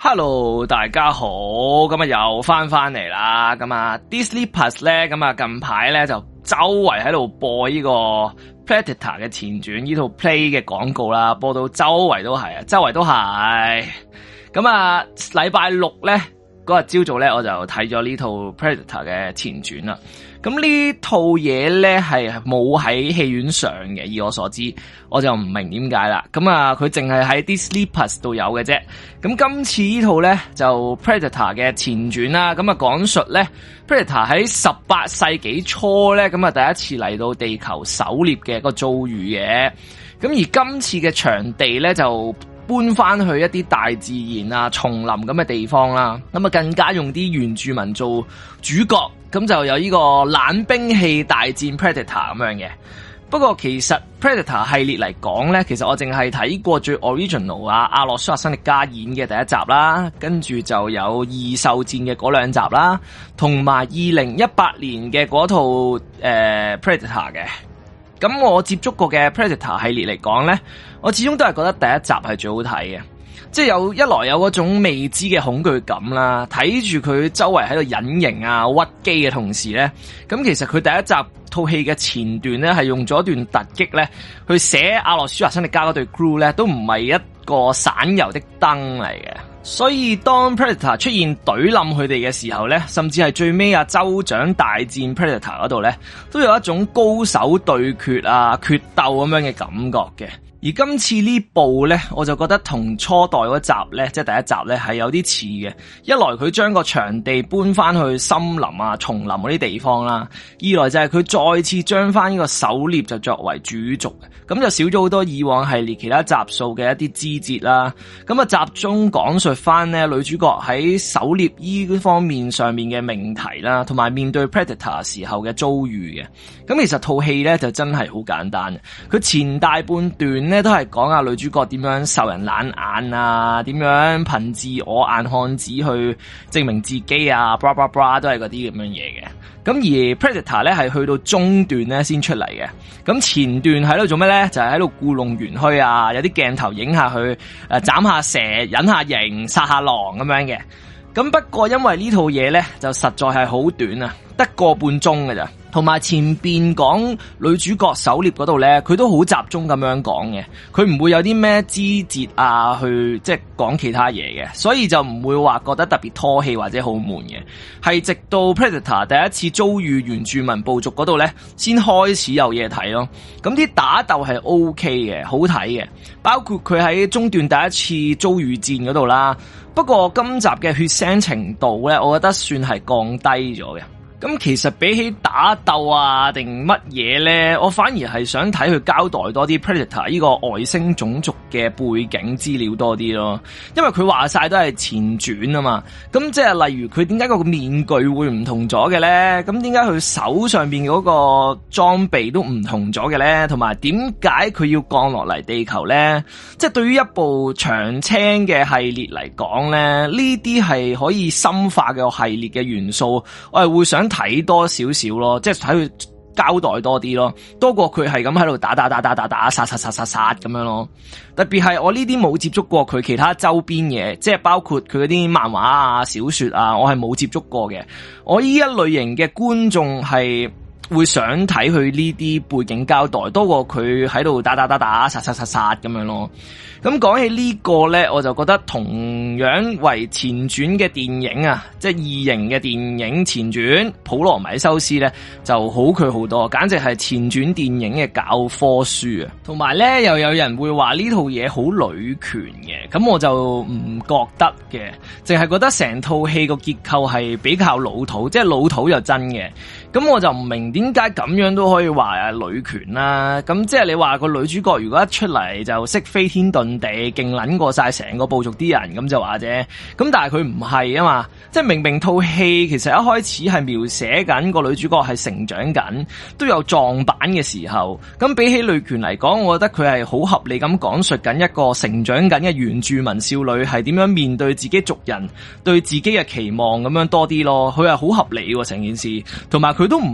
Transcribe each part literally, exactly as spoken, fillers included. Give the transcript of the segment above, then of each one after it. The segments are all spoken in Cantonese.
Hello， 大家好，咁啊又翻翻嚟啦，咁啊 Disney Plus 咧，咁啊近排咧就周圍喺度播呢個 Predator 嘅前傳呢套 Play 嘅廣告啦，播到周圍都係啊，周圍都係，咁啊禮拜六咧嗰日朝早咧我就睇咗呢套 Predator 嘅前傳啦。咁呢套嘢咧係冇喺戲院上嘅，以我所知，我就唔明點解啦。咁啊，佢淨係喺 Disney Plus 度有嘅啫。咁今次呢套咧就 Predator 嘅前傳啦。咁啊，講述咧 Predator 喺十八世紀初咧，咁啊第一次嚟到地球狩獵嘅一個遭遇嘅。咁而今次嘅場地咧就搬翻去一啲大自然啊、叢林咁嘅地方啦。咁啊，更加用啲原住民做主角。咁就有呢個冷兵器大戰 Predator 咁樣嘅。不過其實 Predator 系列嚟講咧，其實我淨係睇過最 original 啊，阿諾舒華辛力加演嘅第一集啦，跟住就有異獸戰嘅嗰兩集啦，同埋二零一八年嘅嗰套誒、呃、Predator 嘅。咁我接觸過嘅 Predator 系列嚟講咧，我始終都係覺得第一集係最好睇嘅。即係有一來有嗰種未知嘅恐懼感啦，睇住佢周圍喺度隱形啊、屈機嘅同時咧，咁其實佢第一集套戲嘅前段咧係用咗一段突擊咧去寫阿諾舒華辛力加嗰隊 crew 咧，都唔係一個省油的燈嚟嘅。所以當 Predator 出現懟冧佢哋嘅時候咧，甚至係最尾啊州長大戰 Predator 嗰度咧，都有一種高手對決啊、決鬥咁樣嘅感覺嘅。而今次呢部咧，我就覺得同初代嗰集咧，即係第一集咧，係有啲似嘅。一來佢將個場地搬翻去森林啊、叢林嗰啲地方啦；二來就係佢再次將翻呢個狩獵就作為主軸，咁就少咗好多以往系列其他集數嘅一啲枝節啦。咁啊，集中講述翻咧女主角喺狩獵呢方面上面嘅命題啦，同埋面對 Predator 時候嘅遭遇嘅。咁其實套戲咧就真係好簡單，佢前大半段咧都係講下女主角點樣受人冷眼啊，點樣憑自我硬漢子去證明自己啊 blah blah blah 都係嗰啲咁樣嘢嘅。咁而 Predator 咧係去到中段咧先出嚟嘅。咁前段喺度做咩咧？就係喺度故弄玄虛啊，有啲鏡頭影下去誒斬下蛇、隱下形、殺下狼咁樣嘅。咁不過因為呢套嘢咧就實在係好短啊，得個半鐘㗎咋。同埋前邊講女主角狩獵嗰度咧，佢都好集中咁樣講嘅，佢唔會有啲咩枝節啊，去即係講其他嘢嘅，所以就唔會話覺得特別拖戲或者好悶嘅。係直到 Predator 第一次遭遇原住民部族嗰度咧，先開始有嘢睇咯。咁啲打鬥係 OK 嘅，好睇嘅，包括佢喺中段第一次遭遇戰嗰度啦。不過今集嘅血腥程度咧，我覺得算係降低咗嘅。咁其實比起打鬥啊定乜嘢咧，我反而係想睇佢交代多啲 Predator 呢個外星種族嘅背景資料多啲咯，因為佢話晒都係前傳啊嘛。咁即係例如佢點解個面具會唔同咗嘅咧？咁點解佢手上邊嗰個裝備都唔同咗嘅咧？同埋點解佢要降落嚟地球咧？即係對於一部長青嘅系列嚟講咧，呢啲係可以深化嘅系列嘅元素，我係會想睇多少少咯，即係睇佢交代多啲咯，多過佢係咁喺度打打打打打打殺殺殺殺殺咁樣咯。特別係我呢啲冇接觸過佢其他周邊嘢，即係包括佢嗰啲漫畫啊、小說啊，我係冇接觸過嘅。我呢一類型嘅觀眾係會想睇佢呢啲背景交代，多過佢喺度打打打打殺殺殺殺咁樣咯。咁講起呢個呢，我就覺得同樣為前傳嘅電影啊，即係異形嘅電影前傳《普羅米修斯》呢，就好佢好多，簡直係前傳電影嘅教科書啊！同埋呢，又有人會話呢套嘢好女權嘅，咁我就唔覺得嘅，淨係覺得成套戲個結構係比較老土，即係老土就真嘅。咁我就唔明點解咁樣都可以話啊女權啦。咁即係你話個女主角如果一出嚟就識飛天遁地，勁撚過晒成個部族啲人，咁就話啫。咁但係佢唔係啊嘛，即係明明套戲其實一開始係描寫緊個女主角係成長緊，都有撞板嘅時候。咁比起女權嚟講，我覺得佢係好合理咁講述緊一個成長緊嘅原住民少女係點樣面對自己族人對自己嘅期望咁樣多啲咯。佢係好合理喎成件事，同埋佢都唔係識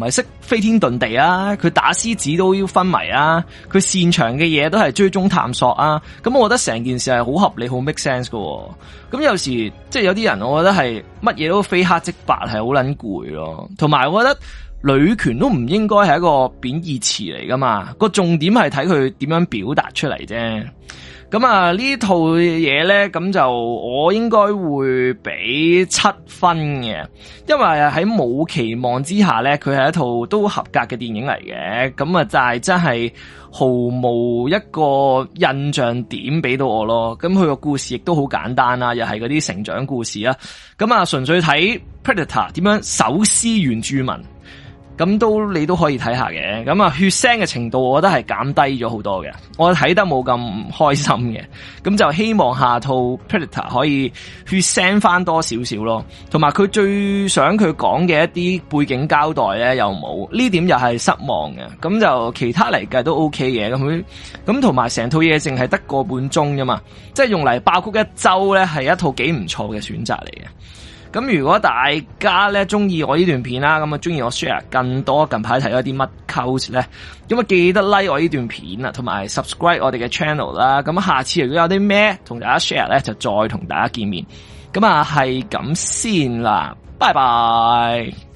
飛天遁地啊，佢打獅子都要昏迷啊，佢擅長嘅嘢都係追蹤探索啊，咁我覺得成件事係好合理好 make sense 噶。咁有時即係有啲人我覺得係乜嘢都非黑即白係好撚攰咯，同埋我覺得女權都唔應該係一個貶義詞嚟噶嘛，個重點係睇佢點樣表達出嚟啫。咁啊呢套嘢咧，咁就我應該會俾七分嘅，因為喺冇期望之下咧，佢係一套都合格嘅電影嚟嘅。咁啊就係真係毫無一個印象點俾到我咯。咁佢個故事亦都好簡單啦，又係嗰啲成長故事啦。咁啊純粹睇 Predator 點樣手撕原住民。咁都你都可以睇下嘅，咁啊血腥嘅程度我覺得係減低咗好多嘅，我睇得冇咁開心嘅，咁就希望下套 Predator 可以血腥翻多少少咯，同埋佢最想佢講嘅一啲背景交代咧又冇，呢點又係失望嘅，咁就其他嚟計都 OK 嘅，咁佢咁同埋成套嘢淨係得個半鐘啫嘛，即係用嚟爆谷一周咧係一套幾唔錯嘅選擇嚟嘅。咁如果大家咧中意我呢段片啦，咁啊中意我 share 更多近排睇咗啲乜 cult 咧，咁啊記得 like 我呢段片啊，同埋 subscribe 我哋嘅 channel 啦。咁下次如果有啲咩同大家 share 咧，就再同大家見面。咁啊係咁先啦，拜拜。